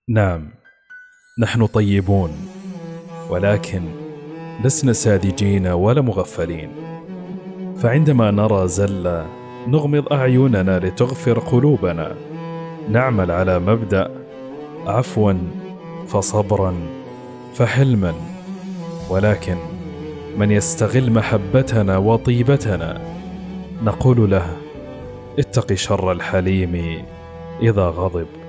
نعم، نحن طيبون، ولكن لسنا ساذجين ولا مغفلين. فعندما نرى زلة نغمض أعيننا لتغفر قلوبنا. نعمل على مبدأ عفوا فصبرا فحلما. ولكن من يستغل محبتنا وطيبتنا نقول له: اتق شر الحليم إذا غضب.